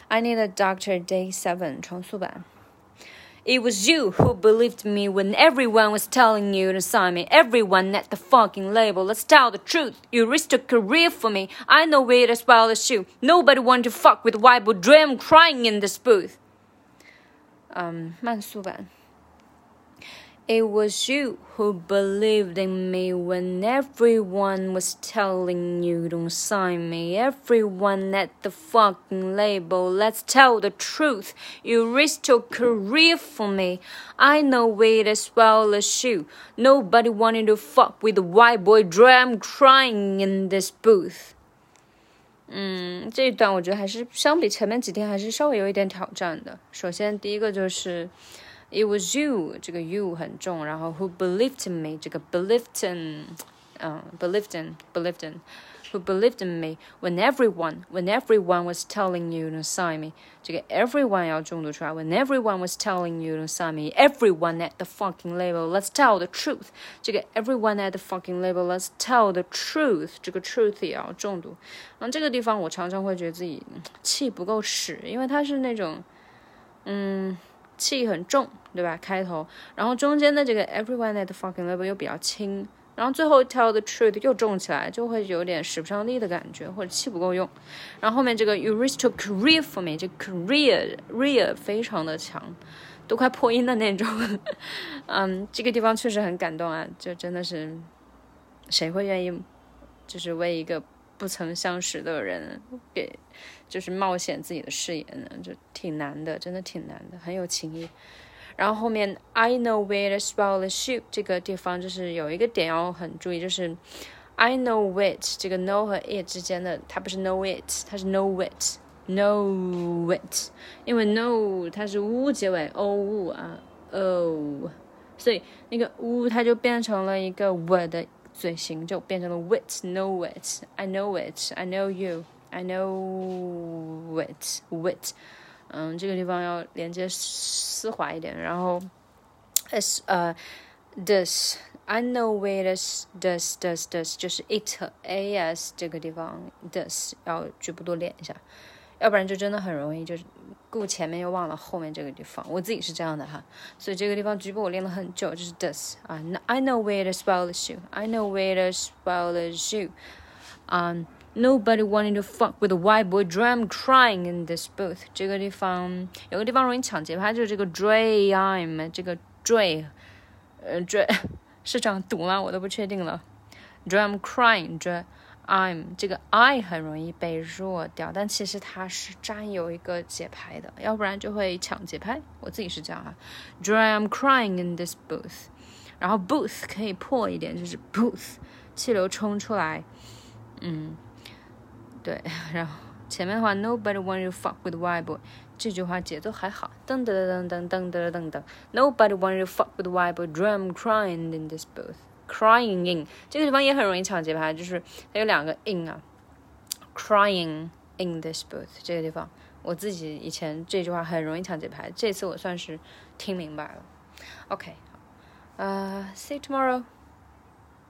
I Need a Doctor Day 7重塑版。It was you who believed me when everyone was telling you to sign me. Everyone at the fucking label. Let's tell the truth. You risked a career for me. I know it as well as you. Nobody wanted to fuck with white boy dream crying in this booth. 慢速版。It was you who believed in me when everyone was telling you don't sign me. Everyone at the fucking label. Let's tell the truth. You risked your career for me. I know it as well as you. Nobody wanted to fuck with the white boy dream crying in this booth. 这一段我觉得还是相比前面几天还是稍微有一点挑战的。首先第一个就是It was you， 这个 you 很重，然后 who believed in me， 这个 believed in，who believed in me when everyone was telling you to sign me， 这个 everyone 要重读出来 when everyone was telling you to sign me everyone at the fucking label let's tell the truth， 这个 everyone at the fucking label let's tell the truth， 这个 truth 也要重读。这个地方我常常会觉得自己气不够使，因为它是那种气很重，对吧？开头，然后中间的这个 everyone at the fucking label 又比较轻，然后最后 tell the truth 又重起来，就会有点使不上力的感觉，或者气不够用。然后后面这个 you risked a career for me， 这 career 非常的强，都快破音的那种。这个地方确实很感动啊，就真的是谁会愿意就是为一个不曾相识的人给就是冒险自己的视野呢，就挺难的，真的挺难的，很有情谊。然后后面 I know it as well as you 这个地方就是有一个点要很注意，就是 I know it 这个 know 和 it 之间的它不是 know it， 它是 know it， 因为 know 它是 u 结尾 o 所以那个 u 它就变成了一个 w 的嘴型，就变成了 wit know it I know it I know you I know it wit， 这个地方要连接丝滑一点，然后 this I know it as this 就是 it as 这个地方 this 要局部多练一下，要不然就真的很容易就是顾前面又忘了后面这个地方，我自己是这样的哈，所以这个地方局部我练了很久，就是 this I know it as well as you I know it as well as you Nobody wanted to fuck with a white boy drum crying in this booth 这个地方有个地方容易抢节拍，就是这个 dream 这个 dream 是这样读吗？我都不确定了 drum crying I'm 这个 I 很容易被弱掉，但其实它是占有一个节拍的，要不然就会抢节拍，我自己是这样drum crying in this booth， 然后 booth 可以破一点，就是 booth 气流冲出来，对，然后前面的话 Nobody wanted to fuck with white boy 这句话节奏还好，噔噔噔噔噔噔噔噔 Nobody wanted to fuck with white boy drum crying in this booth crying in 这个地方也很容易抢节拍，就是它有两个 in crying in this booth 这个地方我自己以前这句话很容易抢节拍，这次我算是听明白了。 OK see you tomorrow